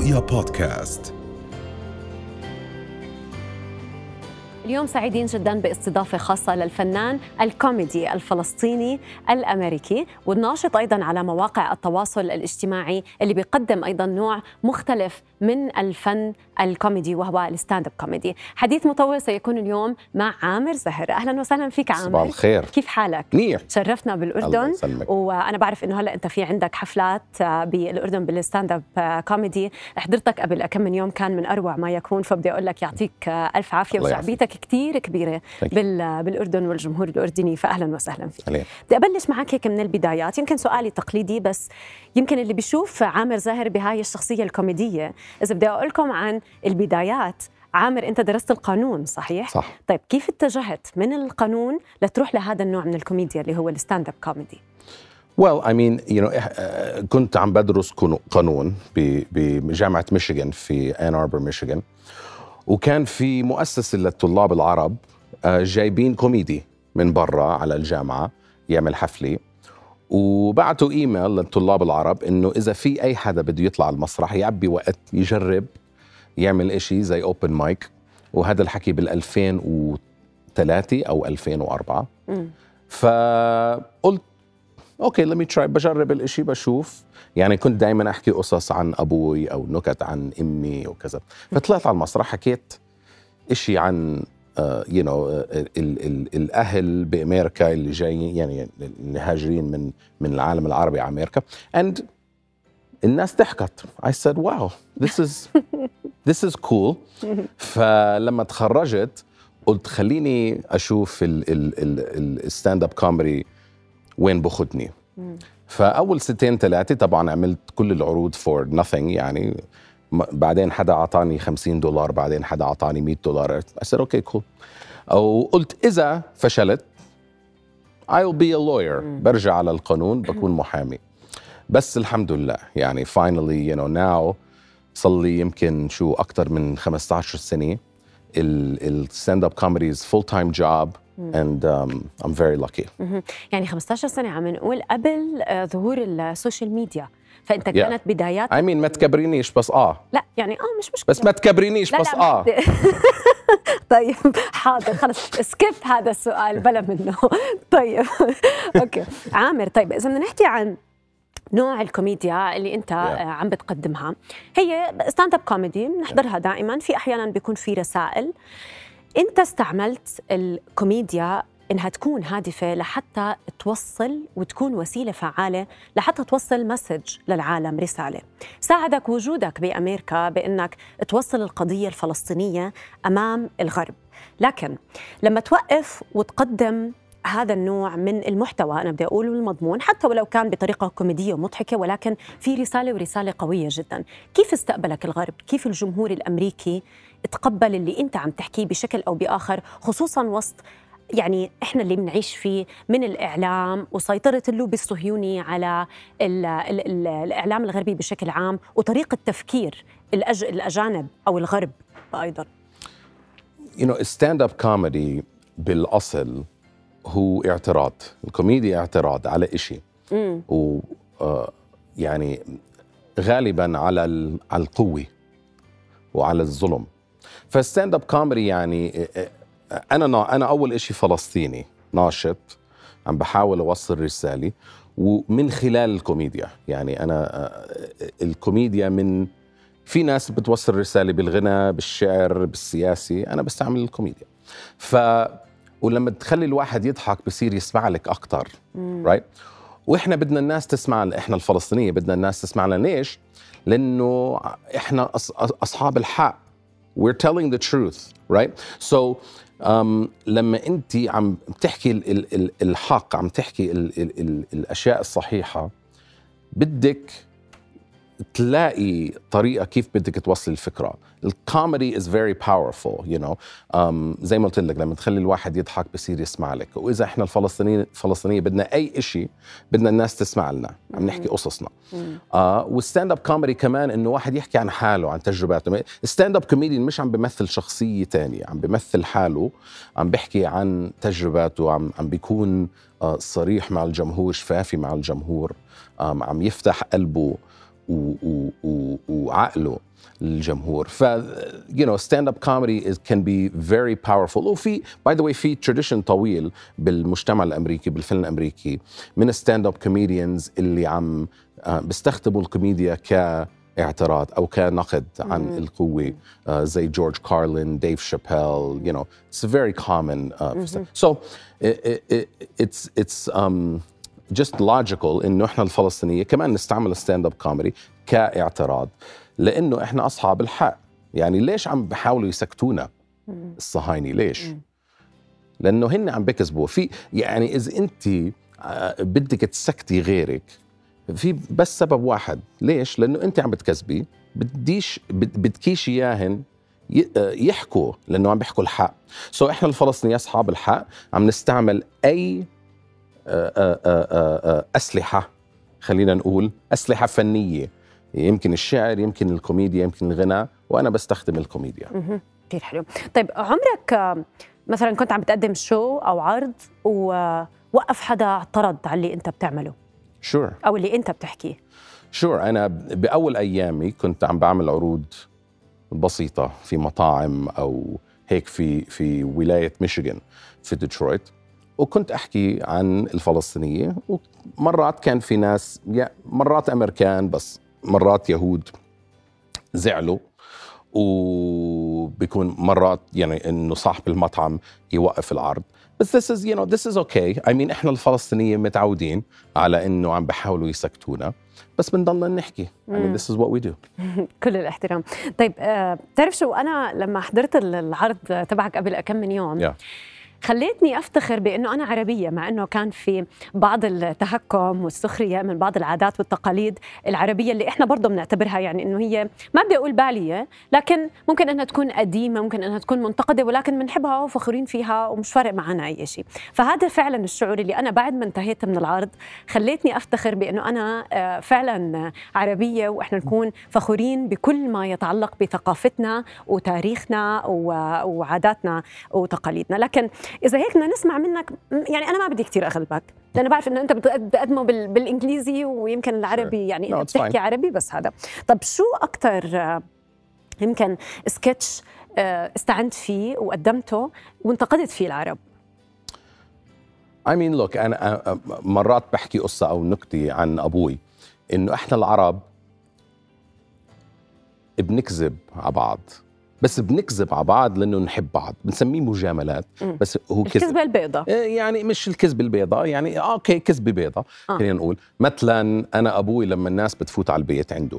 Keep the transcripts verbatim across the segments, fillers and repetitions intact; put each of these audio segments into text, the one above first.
رؤيا بودكاست. اليوم سعيدين جدا باستضافة خاصة للفنان الكوميدي الفلسطيني الأمريكي والناشط أيضا على مواقع التواصل الاجتماعي اللي بيقدم أيضا نوع مختلف من الفن الكوميدي وهو الستاند اب كوميدي. حديث مطول سيكون اليوم مع عامر زهر. أهلا وسهلا فيك عامر. صباح الخير. كيف حالك؟ منيح. شرفنا بالأردن، وأنا بعرف إنه هلأ أنت في عندك حفلات بالأردن بالستاند اب كوميدي. حضرتك قبل كم من يوم كان من أروع ما يكون، فبدي أقول لك يعطيك ألف عافية، وشعبيتك كتير كبيرة بالأردن والجمهور الأردني، فأهلا وسهلا فيك. عليك. بدي أبلش معك هيك من البدايات، يمكن سؤالي تقليدي بس يمكن اللي بيشوف عامر زاهر بهاي الشخصية الكوميدية. إذا بدي أقول لكم عن البدايات، عامر أنت درست القانون صحيح؟ صح. طيب كيف اتجهت من القانون لتروح لهذا النوع من الكوميديا اللي هو الستاند اب كوميدي؟ Well, I mean, you know, كنت عم بدرس قانون بجامعة ميشيغان في آن أربر ميشيغان، وكان في مؤسسة للطلاب العرب جايبين كوميدي من برا على الجامعة يعمل حفلة، وبعتوا إيميل للطلاب العرب إنه إذا في أي حدا بده يطلع المسرح يعبي وقت يجرب يعمل إشي زي أوبن مايك، وهذا الحكي بالألفين وثلاثة أو ألفين وأربعة. م. فقلت أوكي let me try، بجرب الإشي بشوف. يعني كنت دايما أحكي قصص عن أبوي أو نكت عن أمي وكذا، فطلعت على المسرح حكيت إشي عن uh, you know, ال ال الأهل بأمريكا اللي جايين، يعني اللي هاجرين من من العالم العربي على أمريكا، and الناس ضحكت. I said wow this is this is cool. فلما تخرجت قلت خليني أشوف الستاند اب كوميدي وين بخدني. فأول ستين ثلاثة طبعا عملت كل العروض for nothing، يعني بعدين حدا عطاني خمسين دولار، بعدين حدا عطاني مية دولار. I said okay cool. أو قلت إذا فشلت I'll be a lawyer، برجع على القانون بكون محامي. بس الحمد لله يعني finally you know now صار لي يمكن شو أكتر من خمسة عشر سنة الستاند اب كوميدي is full time job and um, I'm very lucky. يعني خمسة عشر سنة عم نقول قبل ظهور السوشيال ميديا، فأنت yeah. كانت بدايات. I mean ما تكبرينيش بس آه لا يعني آه مش مشكلة، بس ما تكبرينيش لا بس لا آه طيب حاضر خلص سكيب هذا السؤال بلا منه. طيب أوكي عامر، طيب إذا بدنا نحكي عن نوع الكوميديا اللي انت yeah. عم بتقدمها، هي ستاند اب كوميدي بنحضرها دائما، في احيانا بيكون في رسائل. انت استعملت الكوميديا انها تكون هادفه لحتى توصل وتكون وسيله فعاله لحتى توصل مسج للعالم، رساله. ساعدك وجودك بامريكا بانك توصل القضيه الفلسطينيه امام الغرب، لكن لما توقف وتقدم هذا النوع من المحتوى، أنا بدي أقول المضمون، حتى ولو كان بطريقة كوميدية ومضحكة، ولكن في رسالة ورسالة قوية جدا. كيف استقبلك الغرب؟ كيف الجمهور الأمريكي تقبل اللي أنت عم تحكيه بشكل أو بآخر، خصوصا وسط يعني إحنا اللي بنعيش فيه من الإعلام وسيطرة اللوبي الصهيوني على ال ال ال الإعلام الغربي بشكل عام، وطريقة تفكير الأج الأجانب أو الغرب أيضا؟ You know, stand-up comedy بالأصل هو اعتراض. الكوميديا اعتراض على إشي، و آه يعني غالبا على على القوة وعلى الظلم. فالستاند اب كوميدي يعني انا انا اول إشي فلسطيني ناشط عم بحاول اوصل رسالة ومن خلال الكوميديا. يعني انا الكوميديا من في ناس بتوصل رسالة بالغنى، بالشعر، بالسياسي، انا بستعمل الكوميديا. ف ولما تخلي الواحد يضحك بصير يسمع لك أكتر رايت right? وإحنا بدنا الناس تسمع، إحنا الفلسطينية بدنا الناس تسمع لنا. ليش؟ لأنه إحنا أصحاب الحق. we're telling the truth right. so um, لما أنت عم تحكي ال ال الحق، عم تحكي ال ال ال الأشياء الصحيحة، بدك تلاقي طريقة كيف بدك توصل الفكرة. الكوميدي is very powerful you know. um, زي ما قلت لك لما تخلي الواحد يضحك بصير يسمع لك. وإذا إحنا الفلسطينيين الفلسطينية بدنا أي إشي بدنا الناس تسمع لنا، عم نحكي قصصنا. آه والستاند اب كوميدي كمان إنه واحد يحكي عن حاله، عن تجرباته. الستاند اب كوميدي مش عم بيمثل شخصية تانية، عم بيمثل حاله، عم بيحكي عن تجرباته، عم عم بيكون آه صريح مع الجمهور، شفافي مع الجمهور، آه عم يفتح قلبه وعقله للجمهور. ف you know stand up comedy is can be very powerful. وفي by the way في tradition طويل بالمجتمع الامريكي بالفيلم الامريكي من stand up comedians اللي عم بيستخدموا الكوميديا كاعتراض او كنقد عن mm. القوه uh, زي جورج كارلين، ديف شابيل. you know it's very common uh, mm-hmm. so it, it, it's it's um just logical انه احنا الفلسطينيه كمان نستعمل stand up comedy كاعتراض، لانه احنا اصحاب الحق. يعني ليش عم بحاولوا يسكتونا الصهاينه؟ ليش؟ لانه هن عم بكذبوا في، يعني اذا انت بدك تسكتي غيرك في بس سبب واحد، ليش؟ لانه انت عم بتكذبي، بديش بدكيش اياهن يحكوا لانه عم بيحكوا الحق. سو so احنا الفلسطينيين اصحاب الحق عم نستعمل اي اسلحه، خلينا نقول اسلحه فنيه، يمكن الشعر، يمكن الكوميديا، يمكن الغناء، وانا بستخدم الكوميديا. كثير حلو. طيب عمرك مثلا كنت عم بتقدم شو او عرض ووقف حدا اعترض على اللي انت بتعمله؟ شور sure. او اللي انت بتحكيه؟ شور sure. انا باول ايامي كنت عم بعمل عروض بسيطه في مطاعم او هيك في في ولايه ميشيغان في ديترويت، وكنت أحكي عن الفلسطينية، ومرات كان في ناس، مرات أمريكان بس مرات يهود زعلوا، وبيكون مرات يعني إنه صاحب المطعم يوقف العرض. بس this is you know this is okay. I mean إحنا الفلسطينيين متعودين على إنه عم بحاولوا يسكتونا، بس بنضلنا نحكي. I mean this is what we do. كل الاحترام. طيب آه، بتعرف شو، أنا لما حضرت العرض تبعك قبل كم من يوم yeah. خليتني أفتخر بأنه أنا عربية، مع أنه كان في بعض التهكم والسخرية من بعض العادات والتقاليد العربية اللي إحنا برضو بنعتبرها يعني أنه هي، ما بدي أقول بالية، لكن ممكن أنها تكون قديمة، ممكن أنها تكون منتقدة، ولكن بنحبها وفخورين فيها ومش فارق معنا أي شيء. فهذا فعلا الشعور اللي أنا بعد ما انتهيت من العرض خليتني أفتخر بأنه أنا فعلا عربية، وإحنا نكون فخورين بكل ما يتعلق بثقافتنا وتاريخنا وعاداتنا وتقاليدنا. لكن إذا هيك بدنا نسمع منك، يعني أنا ما بدي كتير أغلبك، لأن بعرف إنه أنت بتقدمه بالإنجليزي ويمكن العربي، يعني no, أنت بتحكي عربي بس هذا. طب شو أكتر يمكن سكتش استعنت فيه وقدمته وانتقدت فيه العرب؟ I mean look أنا مرات بحكي قصة أو نكتة عن أبوي، إنه إحنا العرب بنكذب على بعض، بس بنكذب على بعض لأنه نحب بعض، بنسميه مجاملات. بس هو كذب، الكذبة البيضاء، يعني مش الكذبة البيضاء، يعني اوكي كذبة بيضاء آه. خلينا نقول مثلا أنا أبوي لما الناس بتفوت على البيت عنده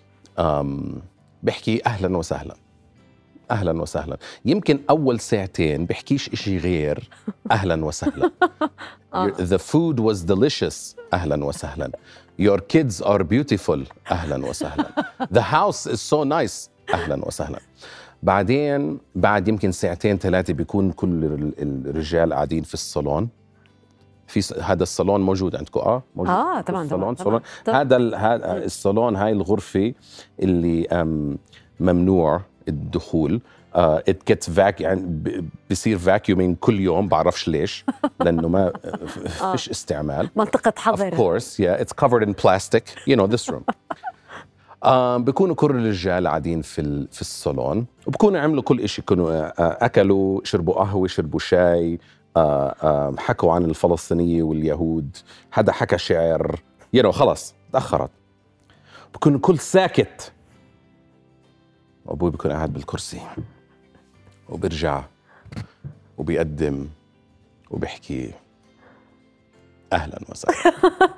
بحكي أهلا وسهلا أهلا وسهلا، يمكن أول ساعتين بحكيش إشي غير أهلا وسهلا. The food was delicious أهلا وسهلا. Your kids are beautiful أهلا وسهلا. The house is so nice أهلا وسهلا. بعدين بعد يمكن ساعتين ثلاثة بيكون كل الرجال قاعدين في الصالون، في هذا الصالون موجود عندكم؟ اه موجود اه طبعا طبعا, طبعا. هذا هذا الصالون، هاي الغرفة اللي ممنوع الدخول. Uh, it gets vac يعني بصير vacuuming كل يوم، بعرفش ليش، لأنه ما فيش استعمال. منطقة حظر. Of course, yeah, it's covered in plastic. You know this room. uh, بيكونوا كل الرجال قاعدين في في الصالون، وبكونوا عملوا كل إشي، كانوا uh, أكلوا، شربوا قهوة، شربوا شاي، uh, uh, حكوا عن الفلسطينية واليهود، حدا حكى شعر، you know خلاص تأخرت، بكون كل ساكت. أبوي بيكون قاعد بالكرسي وبرجع وبيقدم وبيحكي أهلاً وسهلاً.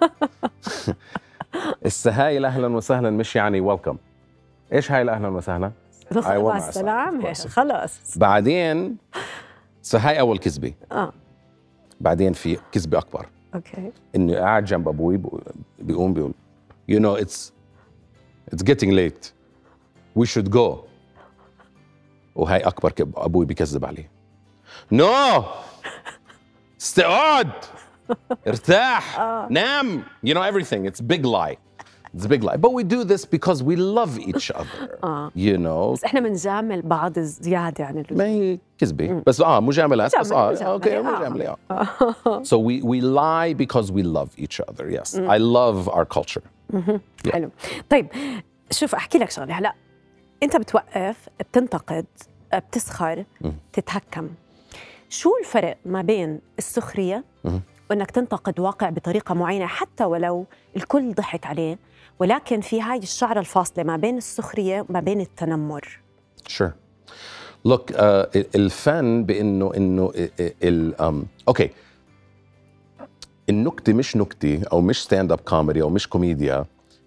السهاي الأهلاً وسهلاً مش يعني ويلكم. إيش هاي الأهلاً وسهلاً؟ مع السلامة خلاص. بعدين سهاي أول كذبة. آه. بعدين في كذبة أكبر. أوكي. إنه قاعد جنب أبوي بيقوم بيقول you know it's it's getting late we should go. وهي أكبر كب أبوي بيكذب عليه. No استقعد ارتاح نام. You know everything. It's a big lie. It's a big lie. But we do this because we love each other. You know. بس إحنا بنجامل بعض زيادة يعني. ما هي كذبة بس آه مجاملات بس آه أوكي مجاملة آه. So we we lie because we love each other. Yes. I love our culture. حلو. طيب شوف احكي لك شغله. هلا انت بتوقف، بتنتقد، بتسخر، تتهكم. شو الفرق ما بين السخريه وانك تنتقد واقع بطريقه معينه حتى ولو الكل ضحك عليه، ولكن في هاي الشعره الفاصله ما بين السخريه وما بين التنمر؟ Sure. Look, uh, الفن بانه انه ال um, اوكي النكته مش نكته او مش ستاند اب كوميدي او مش كوميديا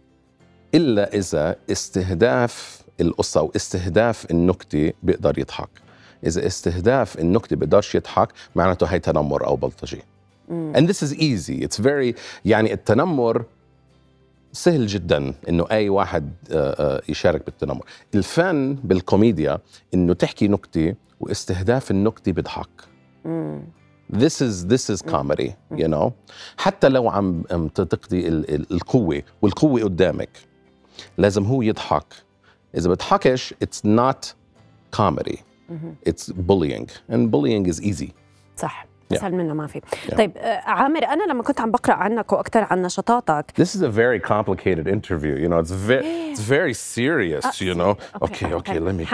الا اذا استهداف القصه او استهداف النكته بيقدر يضحك. اذا استهداف النكته بيقدرش يضحك معناته هي تنمر او بلطجي. And this is easy. It's very يعني التنمر سهل جدا انه اي واحد يشارك بالتنمر. الفن بالكوميديا انه تحكي نكته واستهداف النكته بيضحك. This is this is comedy, you know. حتى لو عم تقضي القوه والقوه قدامك لازم هو يضحك. اذا بضحكش it's not comedy. It's bullying and bullying is easy. صح. أسهل منه ما في. Yeah. طيب عامر، أنا لما كنت عم بقرأ عنك وأكثر عن نشاطاتك. This is a very complicated interview. You know, it's very it's very serious. Uh, you know. Okay, okay, okay let me.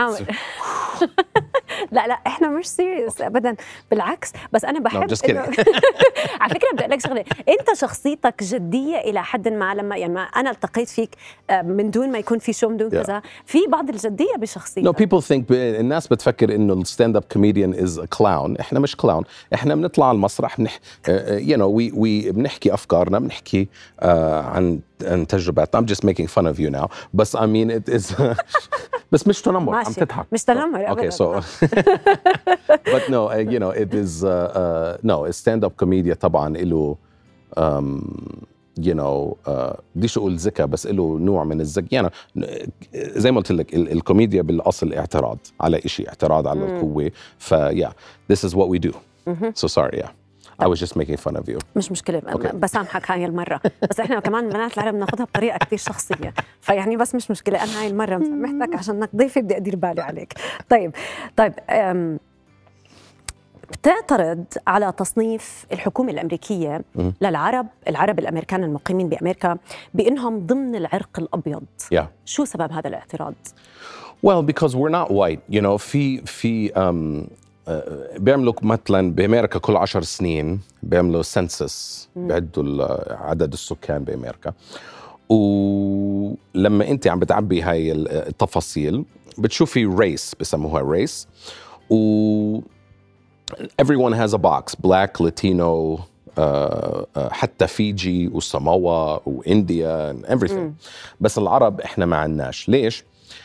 لا لا احنا مش سيريس ابدا، بالعكس. بس انا بحب no, إنه على فكره بدي اقول لك شغله، انت شخصيتك جديه الى حد ما. لما يعني ما انا التقيت فيك من دون ما يكون في شو من دون yeah. كذا، في بعض الجديه بشخصيتك. No, people think الناس بتفكر انه الستاند اب كوميديان از كلاون. احنا مش كلاون، احنا بنطلع على المسرح بنح يو نو وي وي بنحكي افكارنا، بنحكي uh, عن عن تجربات. I'm just making fun of you now. بس I mean it is بس مش تنمر، عم تضحك. مش تنمر ابدا. Okay, so but no, uh, you know, it is uh, uh, no, stand up comedy طبعا له um, you know uh, بديش اقول ذكاء بس له نوع من الذكاء. يعني زي ما قلت لك الكوميديا بالاصل اعتراض على شيء، اعتراض على القوه. ف yeah, this is what we do. So sorry, yeah. I was just making fun of you. مش مشكلة. okay. بسامحك هاي المرة. بس احنا كمان بنات العرب ناخذها بطريقة كتير شخصية، فيعني بس مش مشكلة. أنا هاي المرة مسامحتك عشان انك ضيفي، بدي أدير بالي عليك. طيب طيب بتعترض على تصنيف الحكومة الأمريكية م- للعرب العرب الأمريكان المقيمين بأمريكا بأنهم ضمن العرق الأبيض. yeah. شو سبب هذا الاعتراض؟ Well, because we're not white. You know, في في um, بيعملوا مثلا بامريكا كل عشر سنين بيعملوا سنسس، بيعدوا عدد السكان بامريكا، ولما انت عم بتعبي هاي التفاصيل بتشوفي ريس، بسموها ريس، و everyone has a box black latino uh, uh, حتى فيجي وساموا وانديا and everything. بس العرب احنا ما عندناش. ليش؟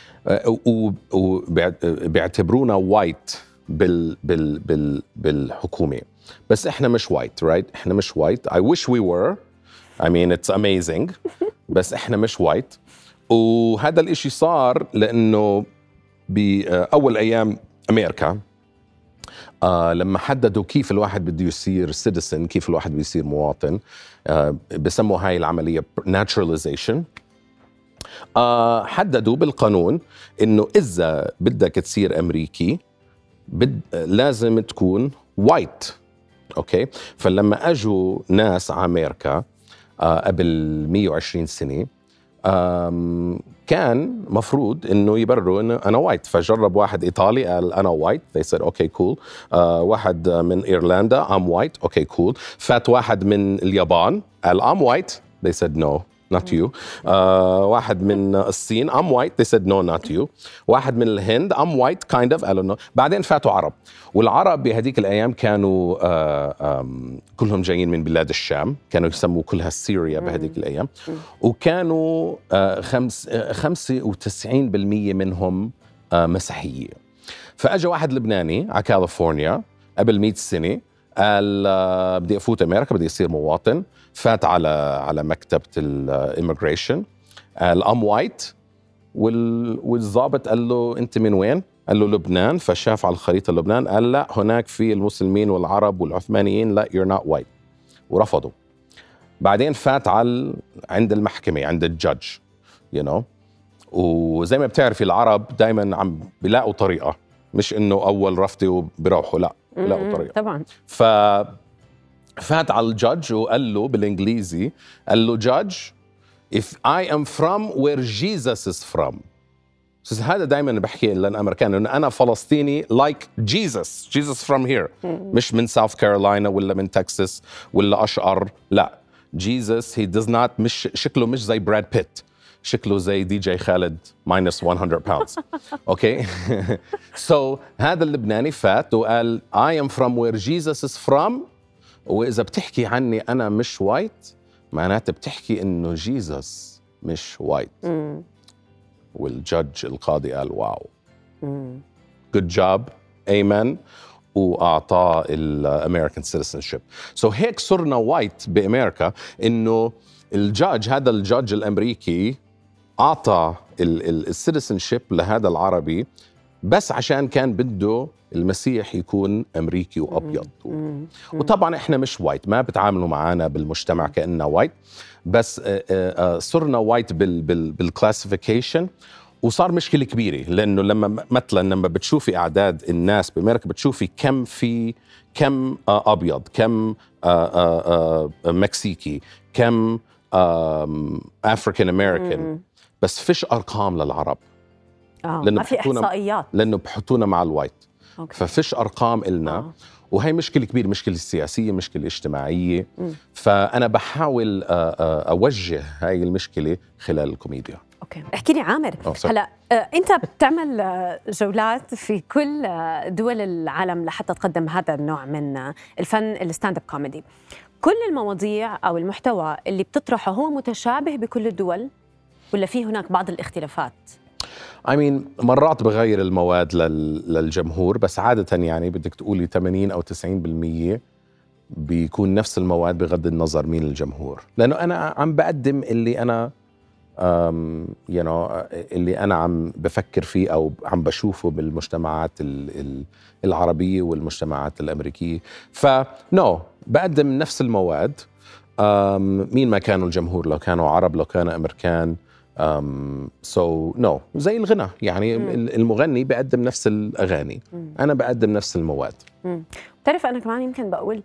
وبيعتبرونا وايت بال بال بال بالحكومة، بس احنا مش وايت رايت right? احنا مش وايت. I wish we were. I mean it's amazing. بس احنا مش وايت. وهذا الاشي صار لانه بأول ايام امريكا آه لما حددوا كيف الواحد بده يصير citizen، كيف الواحد بده يصير مواطن، آه بسموا هاي العملية naturalization. آه حددوا بالقانون انه اذا بدك تصير امريكي بد... لازم تكون وايت. اوكي، فلما اجوا ناس على امريكا آه قبل مية وعشرين سنه آم كان مفروض انه يبرروا انه انا وايت. فجرب واحد ايطالي قال انا وايت، they said okay cool. آه واحد من ايرلندا I'm white, okay cool. فات واحد من اليابان قال I'm white, they said no not you. آه واحد من الصين I'm white, they said no not you. واحد من الهند I'm white kind of قالوا no. بعدين فاتوا عرب، والعرب بهديك الأيام كانوا آه كلهم جايين من بلاد الشام، كانوا يسموا كلها سوريا بهديك الأيام، وكانوا آه خمس آه خمسة وتسعين بالمية منهم آه مسيحية. فأجا واحد لبناني على كاليفورنيا قبل مئة سنة قال آه بدي أفوت أمريكا، بدي أصير مواطن. فات على على مكتبة الإيميغريشن قال أم وايت، والضابط قال له أنت من وين؟ قال له لبنان. فشاف على الخريطة لبنان، قال لا هناك في المسلمين والعرب والعثمانيين، لا you're not white، ورفضوا. بعدين فات على عند المحكمة عند الجادج you know. وزي ما بتعرفي العرب دايما عم بيلاقوا طريقة، مش إنه أول رفضي وبيروحوا، لا بيلاقوا طريقة طبعا. ف فات على الجادج وقال له بالانجليزي، قال له جادج if I am from where Jesus is from. هذا دائما بحكي للامريكان انه انا فلسطيني like Jesus Jesus from here مش من ساوث كارولاينا ولا من تكساس ولا اشقر. لا Jesus he does not مش شكله مش زي براد بيت، شكله زي دي جي خالد minus one hundred pounds. اوكي so هذا اللبناني فات وقال I am from where Jesus is from. واذا بتحكي عني انا مش وايت معناته بتحكي انه جيسس مش وايت. والجدج القاضي قال واو good job amen واعطاه الامريكان citizenship. سو so هيك صرنا وايت بامريكا انه الجدج هذا الجدج الامريكي اعطى السيتيزنشيب لهذا العربي بس عشان كان بده المسيح يكون امريكي وابيض. وطبعا احنا مش وايت، ما بتعاملوا معنا بالمجتمع كاننا وايت، بس صرنا وايت بالكلاسيفيكيشن. وصار مشكله كبيره لانه لما مثلا لما بتشوفي اعداد الناس بامريكا بتشوفي كم في كم ابيض، كم مكسيكي، كم افريكان امريكان، بس فيش ارقام للعرب. اه ما في احصائيات لانه بحطونا مع الوايت. أوكي. ففيش ارقام إلنا. آه. وهي مشكله كبيره، مشكله سياسيه، مشكله اجتماعيه. م. فانا بحاول اوجه هاي المشكله خلال الكوميديا. اوكي احكي لي عامر، هلا انت بتعمل جولات في كل دول العالم لحتى تقدم هذا النوع من الفن الستاند اب كوميدي. كل المواضيع او المحتوى اللي بتطرحه هو متشابه بكل الدول ولا في هناك بعض الاختلافات؟ I mean مرات بغير المواد لل... للجمهور، بس عادة يعني بدك تقولي ثمانين أو تسعين بالمية بيكون نفس المواد بغض النظر مين الجمهور، لأنه أنا عم بقدم اللي أنا um, you know, اللي أنا عم بفكر فيه أو عم بشوفه بالمجتمعات ال... العربية والمجتمعات الأمريكية. فنو بقدم نفس المواد um, مين ما كانوا الجمهور، لو كانوا عرب لو كانوا أمريكان. Um, so no زي الغنى يعني مم. المغني بقدم نفس الأغاني. مم. أنا بقدم نفس المواد. بتعرف أنا كمان يمكن بقول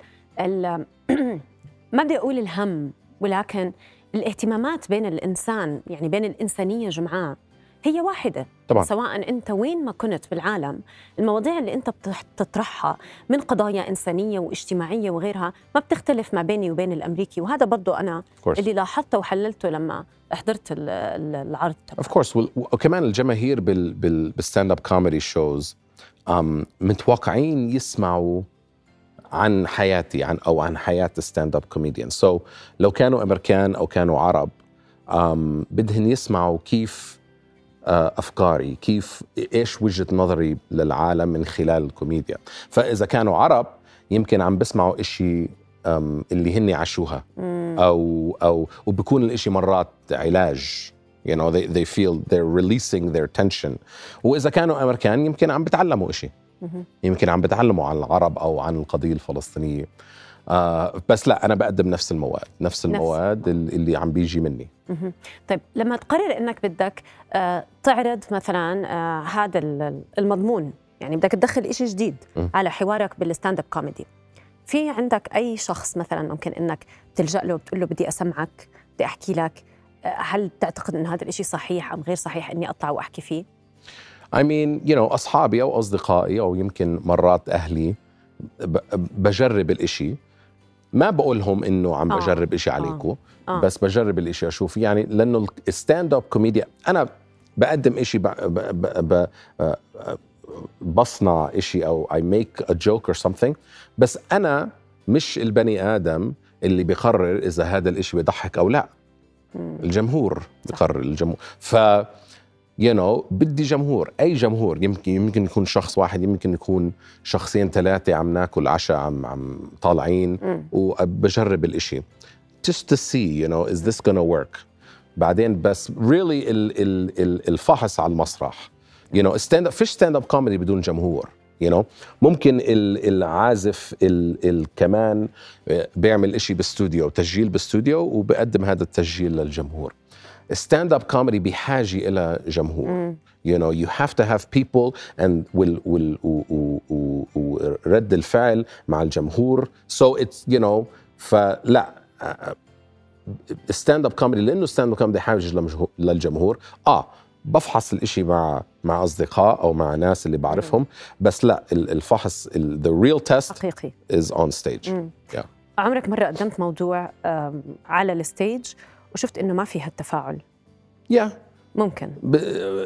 ما بدي أقول الهم، ولكن الاهتمامات بين الإنسان يعني بين الإنسانية جمعاء هي واحدة طبعا. سواء أنت وين ما كنت بالعالم، المواضيع اللي أنت بتطرحها من قضايا إنسانية واجتماعية وغيرها ما بتختلف ما بيني وبين الأمريكي. وهذا برضو أنا اللي لاحظته وحللته لما حضرت العرض. Of course. وكمان الجماهير بال بال بالستاند اب كوميدي شوز متوقعين يسمعوا عن حياتي عن او عن حياة الستاند اب كوميديان. سو لو كانوا امريكان او كانوا عرب بدهن يسمعوا كيف أفكاري، كيف إيش وجهة نظري للعالم من خلال الكوميديا. فإذا كانوا عرب يمكن عم بسمعوا إشي اللي هني عاشوها أو أو وبكون الإشي مرات علاج. you know they they feel they're releasing their tension. وإذا كانوا أمريكان يمكن عم بتعلموا إشي، يمكن عم بتعلموا عن العرب أو عن القضية الفلسطينية. آه بس لا أنا بقدم نفس المواد نفس المواد نفس. اللي عم بيجي مني. طيب لما تقرر إنك بدك آه تعرض مثلا آه هذا المضمون، يعني بدك تدخل إشي جديد م. على حوارك بالستاند اب كوميدي، في عندك أي شخص مثلا ممكن إنك تلجأ له وبتقول له بدي أسمعك بدي أحكي لك، آه هل تعتقد إن هذا الإشي صحيح أم غير صحيح إني أطلع وأحكي فيه؟ I mean you know أصحابي أو أصدقائي أو يمكن مرات أهلي بجرب الإشي، ما بقولهم إنه عم بجرب إشي عليكم. آه. آه. بس بجرب الإشي أشوف يعني، لأنه الستاند اب كوميديا أنا بقدم إشي ب... ب... ب... بصنع إشي أو I make a joke or something، بس أنا مش البني آدم اللي بيقرر إذا هذا الإشي بيضحك أو لا. مم. الجمهور بيقرر، الجمهور. ف you know بدي جمهور، أي جمهور، يمكن يمكن يكون شخص واحد، يمكن يكون شخصين ثلاثة عم ناكل عشاء عم عم طالعين م. وبجرب الإشي just to see you know is this gonna work. بعدين بس really ال ال ال الفحص على المسرح you know stand up فيش stand up comedy بدون جمهور. you know ممكن العازف الكمان بيعمل إشي باستوديو، تسجيل باستوديو وبقدم هذا التسجيل للجمهور. ستاند اب كوميدي بحاجه الى جمهور. mm. you know you have to have people and will will ورد الفعل مع الجمهور. so it's you know فلا ستاند اب كوميدي لانه ستاند اب كوميدي حاجز للجمهور، اه بفحص الاشي مع مع اصدقاء او مع ناس اللي بعرفهم، بس لا الفحص the real test حقيقي is on stage. yeah. عمرك مرة قدمت موضوع على الستيج وشفت انه ما فيها التفاعل؟ yeah. ممكن ب...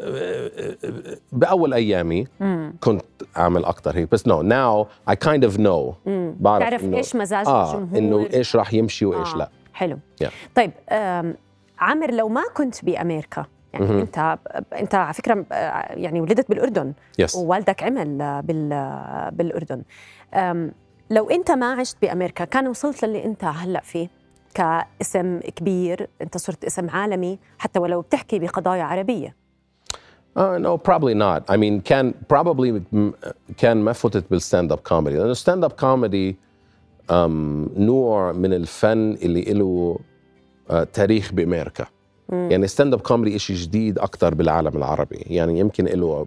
بأول أيامي مم. كنت أعمل أكتر هيك، بس no now I kind of know مم. بعرف تعرف إنه إيش مزاج آه الجمهور، إنه إيش راح يمشي وإيش آه. لا. حلو yeah. طيب عامر، لو ما كنت بأمريكا يعني مم. أنت أنت على فكرة يعني ولدت بالأردن yes. ووالدك عمل بال... بالأردن، لو أنت ما عشت بأمريكا كان وصلت للي أنت هلأ فيه كاسم كبير، أنت صرت اسم عالمي حتى ولو بتحكي بقضايا عربية؟ Uh, no, probably not. I mean, كان probably كان ما فتت بالستاند اب كوميدي، لأنه ستاند اب كوميدي um, نوع من الفن اللي له uh, تاريخ بأمريكا. مم. يعني ستاند اب كوميدي إشي جديد أكتر بالعالم العربي، يعني يمكن له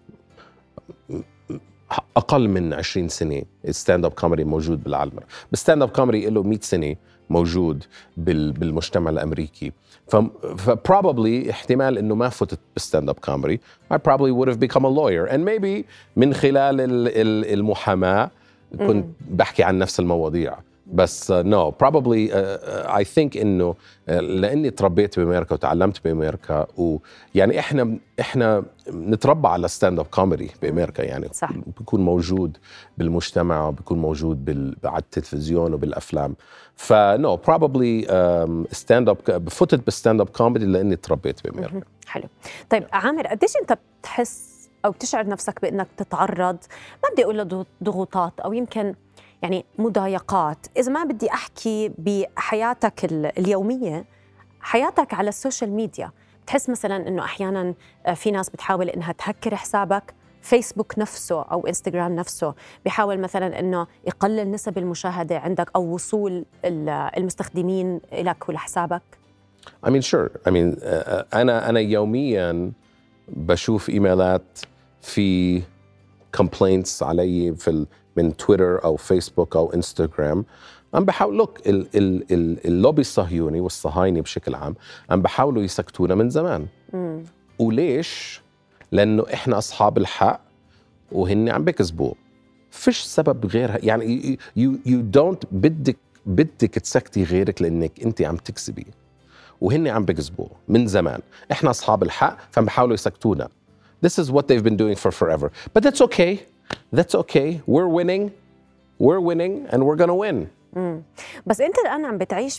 أقل من عشرين سنة الستاند اب كوميدي موجود بالعالم، بس ستاند اب كوميدي له مئة سنة موجود بالمجتمع الأمريكي. ف probably احتمال إنه ما فتت بالستاند اب كوميدي. I probably would have become a lawyer and maybe من خلال المحاماة كنت بحكي عن نفس المواضيع. بس uh, no probably uh, I think إنه uh, لأني تربيت بأمريكا وتعلمت بأمريكا، ويعني إحنا إحنا نتربى على ستاند اب كوميدي بأمريكا، يعني صح. بيكون موجود بالمجتمع وبيكون موجود بال... على التلفزيون وبالأفلام. فنو probably ستاند اب بفتت بالستاند اب كوميدي لأني تربيت بأمريكا. حلو. طيب عامر، قديش أنت بتحس أو بتشعر نفسك بأنك تتعرض، ما بدي أقول ضغوطات أو يمكن يعني مضايقات، إذا ما بدي أحكي بحياتك اليومية، حياتك على السوشيال ميديا، بتحس مثلاً إنه أحياناً في ناس بتحاول إنها تهكر حسابك، فيسبوك نفسه أو إنستغرام نفسه بيحاول مثلاً إنه يقلل نسب المشاهدة عندك أو وصول المستخدمين لك ولحسابك؟ I mean sure. I mean أنا أنا يومياً بشوف إيميلات في complaints علي في ال من تويتر أو فيسبوك أو إنستغرام. عم بحاول لوك اللوبي الصهيوني والصهايني بشكل عام عم بحاولوا يسكتونا من زمان. مم. وليش؟ لأنه إحنا أصحاب الحق وهن عم بكذبوا، فيش سبب غيرها. يعني you, you don't بدك بدك تسكتي غيرك لأنك أنت عم تكذبي، وهن عم بكذبوا من زمان. إحنا أصحاب الحق فعم بحاولوا يسكتونا. This is what they've been doing for forever. But that's okay. That's okay. We're winning. We're winning and we're gonna win. مم. بس أنت الآن عم بتعيش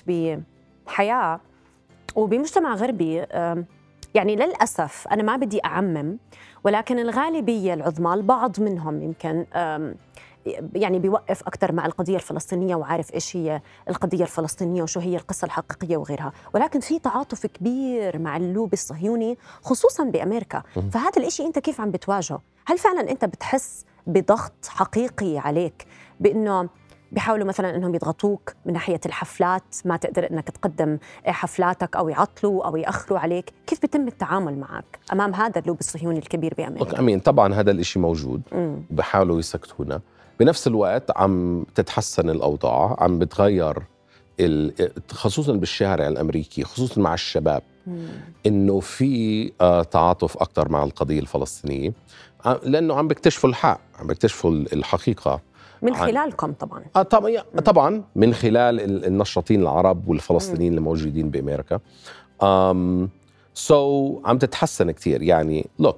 بحياة وبمجتمع غربي، يعني للأسف أنا ما بدي أعمم، ولكن الغالبية العظمى، البعض منهم يمكن يعني بيوقف أكتر مع القضية الفلسطينية وعارف إيش هي القضية الفلسطينية وشو هي القصة الحقيقية وغيرها، ولكن في تعاطف كبير مع اللوبي الصهيوني خصوصاً بأمريكا. فهذا الإشي أنت كيف عم بتواجهه؟ هل فعلاً أنت بتحس بضغط حقيقي عليك بأنه بيحاولوا مثلاً أنهم يضغطوك من ناحية الحفلات، ما تقدر أنك تقدم حفلاتك أو يعطلوا أو يأخروا عليك؟ كيف بيتم التعامل معك أمام هذا اللوبي الصهيوني الكبير بأمريكا؟ أمين طبعاً هذا الإشي موجود، بحاولوا يسكتونا. بنفس الوقت عم تتحسن الأوضاع، عم بتغير خصوصاً بالشارع الأمريكي، خصوصاً مع الشباب، مم. إنه في تعاطف أكتر مع القضية الفلسطينية، لأنه عم بيكتشفوا الحق، عم بيكتشفوا الحقيقة من خلالكم طبعاً. آه طبعاً طبعاً من خلال النشاطين العرب والفلسطينيين اللي موجودين بأمريكا. um, so عم تتحسن كتير. يعني look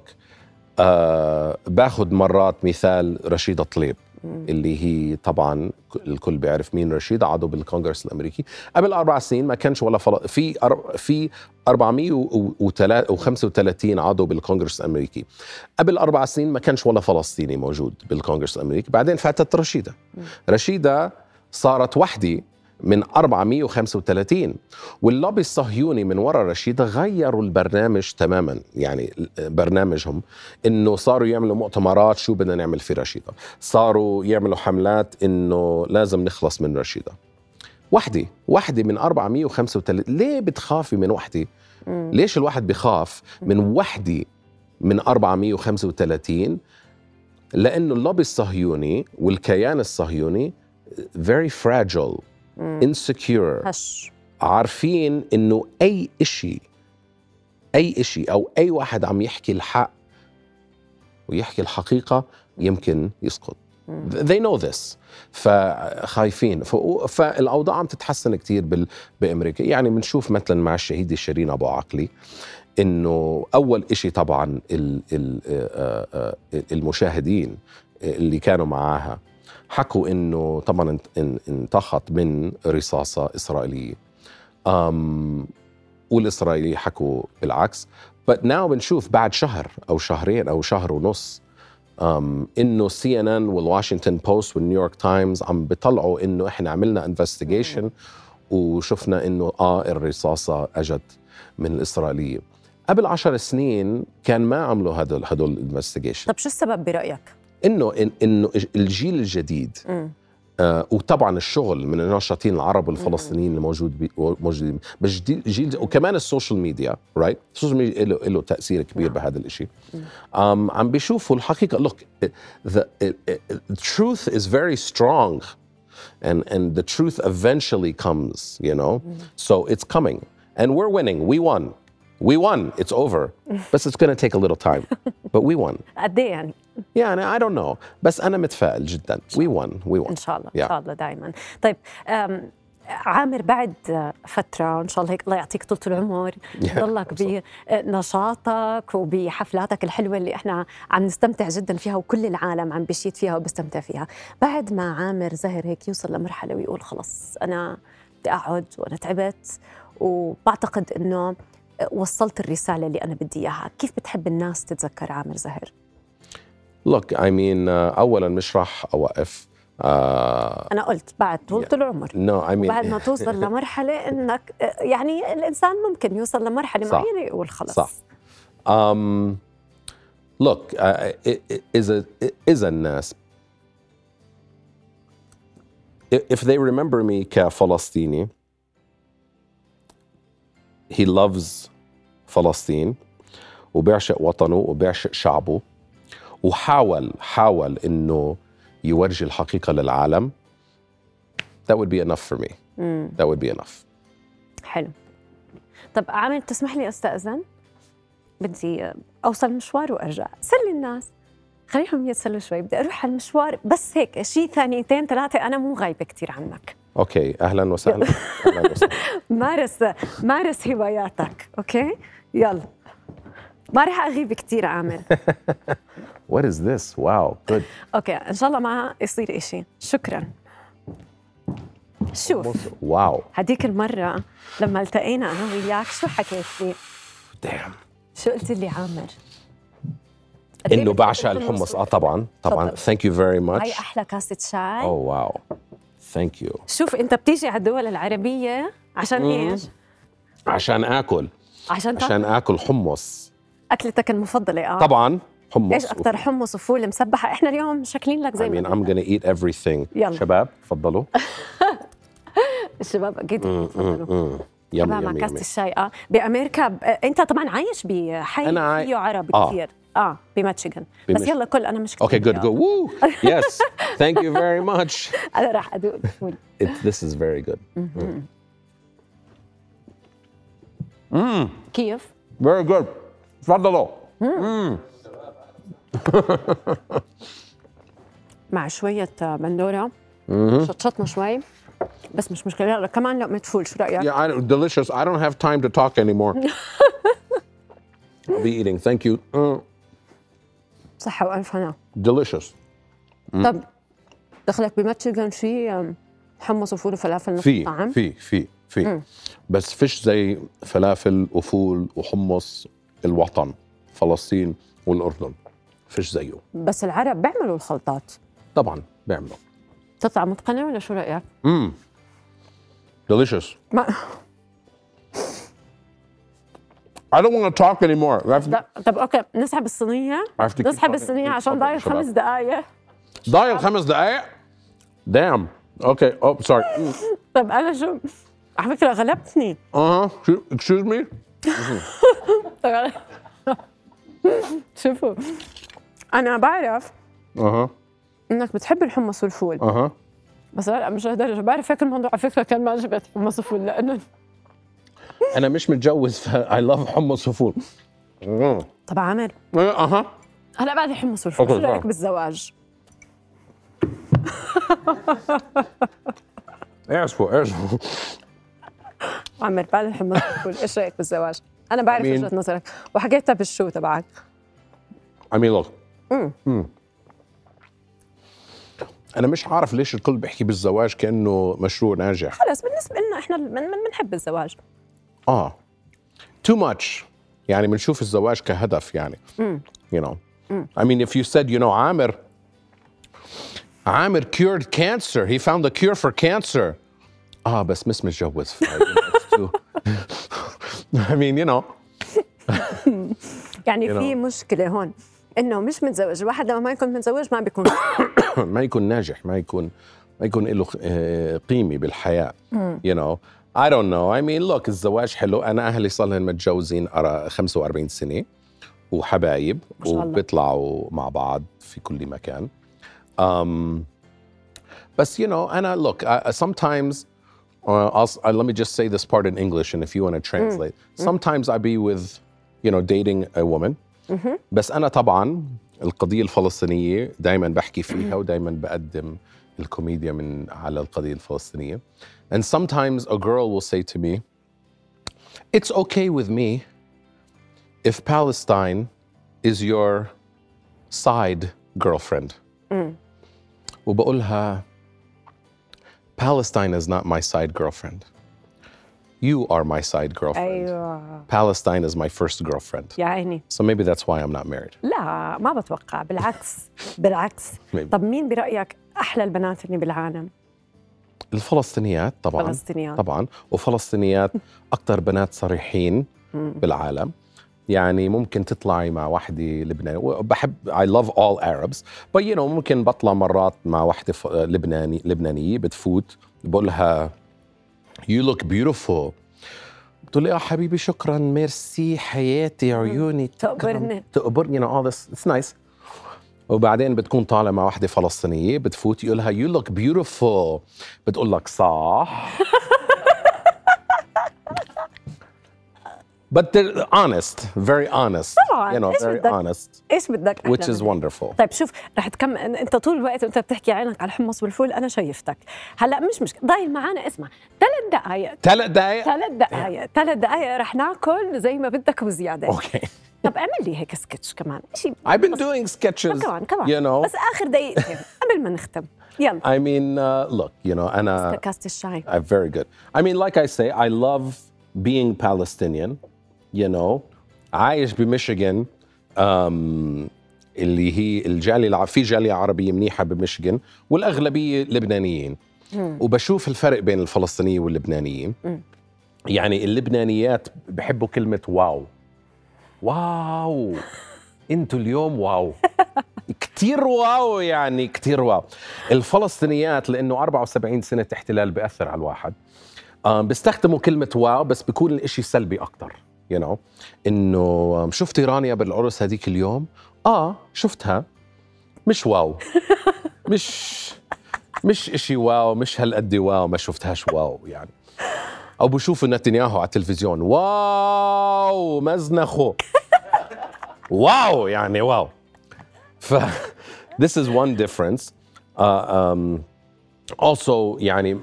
آه باخد مرات مثال رشيدة طليب، اللي هي طبعا الكل بيعرف مين رشيدة، عضو بالكونغرس الأمريكي. قبل أربع سنين ما كانش ولا فل... في أر... في أربعمية وخمسة وثلاثين عضو بالكونغرس الأمريكي. قبل أربع سنين ما كانش ولا فلسطيني موجود بالكونغرس الأمريكي. بعدين فاتت رشيدة. رشيدة صارت وحدة من أربعمية وخمسة وثلاثين، واللوبي الصهيوني من وراء رشيدة غيروا البرنامج تماما. يعني برنامجهم إنه صاروا يعملوا مؤتمرات شو بدنا نعمل في رشيدة، صاروا يعملوا حملات إنه لازم نخلص من رشيدة. وحدة وحدة من أربعمية وخمسة وثلاثين. ليه بتخافي من وحدة؟ ليش الواحد بخاف من وحدة من أربعمية وخمسة وثلاثين؟ لأنه اللوبي الصهيوني والكيان الصهيوني very fragile, insecure, هش عارفين إنه أي إشي أي إشي أو أي واحد عم يحكي الحق ويحكي الحقيقة يمكن يسقط. They know this. فخايفين. فالأوضاع عم تتحسن كتير بال... بأمريكا. يعني بنشوف مثلا مع الشهيدة شيرين أبو عقلي إنه أول إشي طبعا ال... ال... المشاهدين اللي كانوا معاها حكوا إنه طبعا انتخط من رصاصة إسرائيلية. أم... والإسرائيلي حكوا بالعكس. but now بنشوف بعد شهر أو شهرين أو شهر ونص um, إنه سي إن إن والواشنطن بوست والنيويورك تايمز عم بيطلعوا إنه إحنا عملنا انفستيجيشن وشفنا إنه آه الرصاصة أجت من الإسرائيلية. قبل عشر سنين كان ما عملوا هدول هدول الانفستيجيشن. طب شو السبب برأيك؟ إنه إنه الجيل الجديد م. آه وطبعا الشغل من الناشطين العرب والفلسطينيين اللي موجود موجودين بس جيل وكمان السوشيال ميديا رايت السوشيال ميديا له له تاثير كبير بهذا الشيء. um, عم بيشوفوا الحقيقه. look the, the truth is very strong and and the truth eventually comes, you know. so it's coming and we're winning. we won we won it's over but it's going to take a little time but we won. قد ايه يعني؟ يعني I don't know بس أنا متفائل جدا. we won we won إن شاء الله. yeah. إن شاء الله دائما. طيب عامر بعد فترة إن شاء الله هيك الله يعطيك طولة العمر يضلك بنشاطك وبحفلاتك الحلوة اللي إحنا عم نستمتع جدا فيها وكل العالم عم بيشيد فيها وبيستمتع فيها. بعد ما عامر زاهر هيك يوصل لمرحلة ويقول خلص أنا بدي أقعد وأنا تعبت وبعتقد إنه وصلت الرسالة اللي أنا بدي إياها، كيف بتحب الناس تتذكر عامر زاهر؟ Look I mean uh, أولاً مش راح أوقف. uh, أنا قلت بعد طولة yeah. العمر no, I mean... بعد ما توصل لمرحلة إنك يعني الإنسان ممكن يوصل لمرحلة معينة يقول خلص. صح. um, look uh, إذا إذا الناس if they remember me كفلسطيني he loves فلسطين وبيعشق وطنه وبيعشق شعبه وحاول حاول إنه يورجي الحقيقة للعالم. that would be enough for me. mm. that would be enough. حلو. طب عامر تسمح لي أستأذن؟ بدي أوصل مشوار وأرجع. سلي الناس خليهم يتسلوا شوي. بدي أروح على المشوار بس هيك شيء ثانيتين ثلاثة أنا مو غايبة كتير عنك. أوكي أهلاً وسهلاً. أهلاً وسهلاً. مارس مارس هواياتك. أوكي يلا ما رح أغيب كتير عامر. What is this? Wow, good. أوكي إن شاء الله ما يصير إشي. شكراً. شوف واو هديك المرة لما التقينا أنا وياك شو حكيت لي؟ damn. شو قلت لي عامر؟ إنه بعشق الحمص. آه طبعاً طبعاً. Thank you very much. هاي أحلى كاسة شاي. Oh wow. Thank you. شوف أنت بتيجي على الدول العربية عشان إيش؟ عشان آكل. عشان عشان آكل حمص. أكلتك المفضلة. آه طبعاً حمص. إيش أكتر؟ حمص وفول مسبحة. إحنا اليوم شكلين لك زي I mean I'm gonna eat everything. يلا. شباب تفضلوا. الشباب أكيد تفضلوا. يلا مع كاسة الشاي. آه بأمريكا ب... أنت طبعاً عايش بحي فيه عرب آه. كثير. آه بميشيغان. بس يلا كل أنا مش كثير. Okay good go. Woo. Yes. Thank you very much. أنا راح أدوق الفول. This is very good. مم. كيف؟ Very good. تفضلوا. مع شوية بندورة شطشطنا شوي بس مش مشكلة. لا كمان لقمة فول شو رأيك؟ Yeah, I, delicious. I don't have time to talk anymore. I'll be eating. Thank you. Mm. صحة وألف هنا. Delicious. Mm. طب دخلك بميشيغان في حمص وفول وفلافل نفس في الطعم؟ في في في بس فيش زي فلافل وفول وحمص الوطن فلسطين والأردن. فيش زيه. بس العرب بيعملوا الخلطات. طبعا بيعملوا. تطلع متقنة ولا شو رأيك؟ امم delicious. ما I don't want to talk anymore. طب اوكي نسحب الصينية. نسحب الصينية عشان ضايل خمس دقايق. ضايل خمس دقايق؟ damn. اوكي oh sorry. طب أنا شو على فكرة غلبتني. اها excuse me. شوفوا أنا بعرف اها إنك بتحب الحمص والفول. اها بس لا مش لهالدرجة. بعرف هيك الموضوع على فكرة كان ما عجبت حمص وفول لأنه انا مش متجوز ف I love حمص وفول. طب عامر اها هلا بعد حمص والفول، شو رايك بالزواج؟ اعرفوا اعرفوا عامر بعد الحمص والفول ايش رايك بالزواج؟ انا بعرف وجهة نظرك وحكيتها بالشو تبعك. I mean look امم أنا مش عارف ليش الكل بيحكي بالزواج كأنه مشروع ناجح. خلص بالنسبة لنا إحنا بنحب الزواج. آه too much يعني بنشوف الزواج كهدف يعني. مم. you know. مم. I mean if you said you know عامر عامر cured cancer, he found the cure for cancer. آه بس مش متجوز. I mean you know. يعني في مشكلة هون إنه مش متزوج، الواحد لما ما يكون متزوج ما بيكون ما يكون ناجح، ما يكون ما يكون له قيمة بالحياة. you know I don't know. I mean look الزواج حلو. أنا أهلي صار لهم متجوزين أرى خمسة وأربعين سنة وحبايب وبيطلعوا مع بعض في كل مكان. um, بس you know أنا look I, sometimes uh, I'll, uh, let me just say this part in English and if you want to translate. Sometimes I be with you know dating a woman. بس أنا طبعاً القضية الفلسطينية دايماً بحكي فيها ودايماً بقدم الكوميديا من على القضية الفلسطينية. And sometimes a girl will say to me, it's okay with me if Palestine is your side girlfriend. mm. وبقولها Palestine is not my side girlfriend. You are my side girlfriend. أيوة. Palestine is my first girlfriend. يا عيني. So maybe that's why I'm not married. لا ما بتوقع، بالعكس بالعكس. Maybe. طب مين برأيك أحلى البنات اللي بالعالم؟ الفلسطينيات طبعاً. فلسطينيات. طبعاً وفلسطينيات أكتر بنات صريحين بالعالم. يعني ممكن تطلعي مع واحدة لبنانية، بحب I love all Arabs but you know ممكن بطلع مرات مع واحدة لبناني لبنانية بتفوت بقولها you look beautiful. بتقول لي يا حبيبي شكرا ميرسي حياتي عيوني تقبرني تقبرني you know all this it's nice. وبعدين بتكون طالع مع واحدة فلسطينية بتفوت يقولها you look beautiful بتقول لك صح. But they're honest, very honest. طبعاً. You know, إيش very بدك؟ honest. إيش بدك؟ Which is wonderful. طيب شوف رح تكمل أنت طول الوقت وأنت بتحكي عينك على الحمص والفول، أنا شايفتك هلا مش مش ضايل معنا. اسمع ثلاث دقائق ثلاث دقائق ثلاث دقائق ثلاث دقائق رح ناكل زي ما بدك وزيادة. أوكي. طب اعمل لي هيك سكتش كمان شيء. I've been doing sketches. كمان كمان. You know. بس آخر دقيقتين قبل ما نختم. يلا. I mean, uh, look, you know, أنا. كاسة الشاي. I'm very good. I mean, like I say, I love being Palestinian. You know, عايش بميشيغان um, اللي هي الجالية في جالية عربية منيحة بميشيغان والأغلبية لبنانيين. مم. وبشوف الفرق بين الفلسطينيين واللبنانيين. مم. يعني اللبنانيات بحبوا كلمة واو. واو انتوا اليوم واو. كتير واو يعني كتير واو. الفلسطينيات لأنه أربعة وسبعين سنة احتلال بيأثر على الواحد بيستخدموا كلمة واو بس بيكون الاشي سلبي أكتر. you know إنه شفتي رانيا بالعرس هذيك اليوم؟ آه شفتها مش واو. مش مش إشي واو مش هالقد واو ما شفتهاش واو يعني. أو بشوفوا نتنياهو على التلفزيون واو مزنخو. واو يعني واو. ف this is one difference. Uh, um, also يعني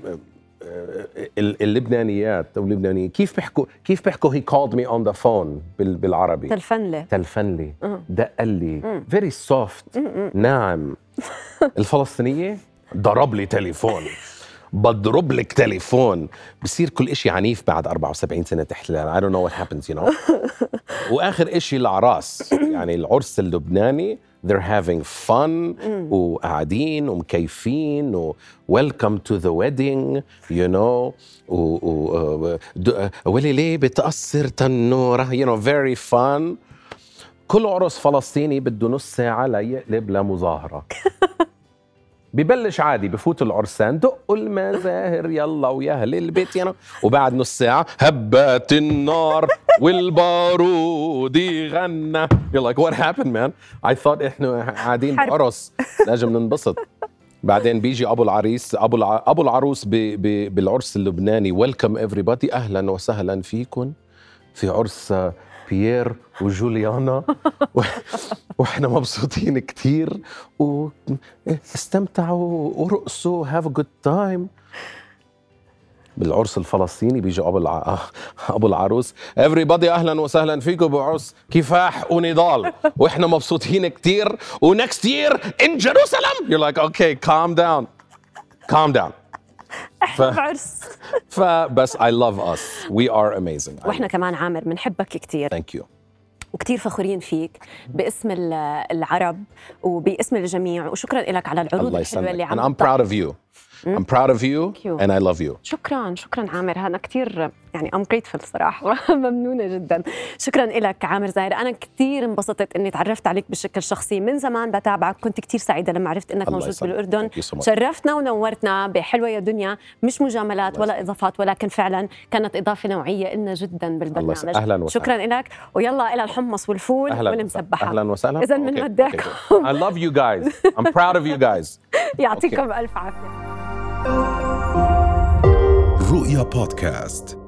اللبنانيات او اللبنانيين كيف بيحكوا كيف بيحكوا he called me on the phone بالعربي تلفن لي تلفن لي دق لي very soft ناعم. الفلسطينية ضرب لي تليفون بضرب لك تليفون بصير كل إشي عنيف بعد أربعة وسبعين سنة احتلال. I don't know what happens you know. وآخر إشي العراس يعني العرس اللبناني they're having fun وقاعدين ومكيفين و welcome to the wedding you know و, و ولي ليه بتأثر تنورة you know very fun. كل عرس فلسطيني بده نص ساعة ليقلب لمظاهرة. ببلش عادي بفوت العرسان دقوا المزاهر يلا ويا اهل البيت يعني وبعد نص ساعة هبات النار والبارود يغنى. You're like what happened man? I thought احنا قاعدين بعرس لازم ننبسط. بعدين بيجي ابو العريس ابو الع... ابو العروس ب... ب... بالعرس اللبناني ويلكم everybody، اهلا وسهلا فيكم في عرس بيير وجوليانا و... واحنا مبسوطين كتير واستمتعوا ورقصوا have a good time. بالعرس الفلسطيني بيجي ابو الع... ابو العروس everybody اهلا وسهلا فيكم بعرس كفاح ونضال واحنا مبسوطين كتير و next year in Jerusalem. You're like okay calm down calm down. ف... بعرس. فبس I love us we are amazing. واحنا كمان عامر بنحبك كتير. Thank you. وكتير فخورين فيك باسم العرب وباسم الجميع، وشكرا لك على العروض الحلوة اللي عم. And I'm proud of you. I'm proud of you and I love you. شكرا شكرا عامر، أنا كتير يعني I'm grateful صراحة ممنونة جدا. شكرا لك عامر زاهر، أنا كتير انبسطت إني تعرفت عليك بشكل شخصي، من زمان بتابعك، كنت كتير سعيدة لما عرفت إنك موجود بالأردن. شرفتنا ونورتنا بحلوة يا دنيا، مش مجاملات ولا إضافات، ولكن فعلا كانت إضافة نوعية لنا جدا بالبرنامج. أهلا وسهلا. شكرا لك، ويلا إلى الحمص والفول والمسبحة. أهلا وسهلا. إذا من وداكم. I love you guys. I'm proud of you guys. يعطيكم ألف عافية. رؤيا بودكاست.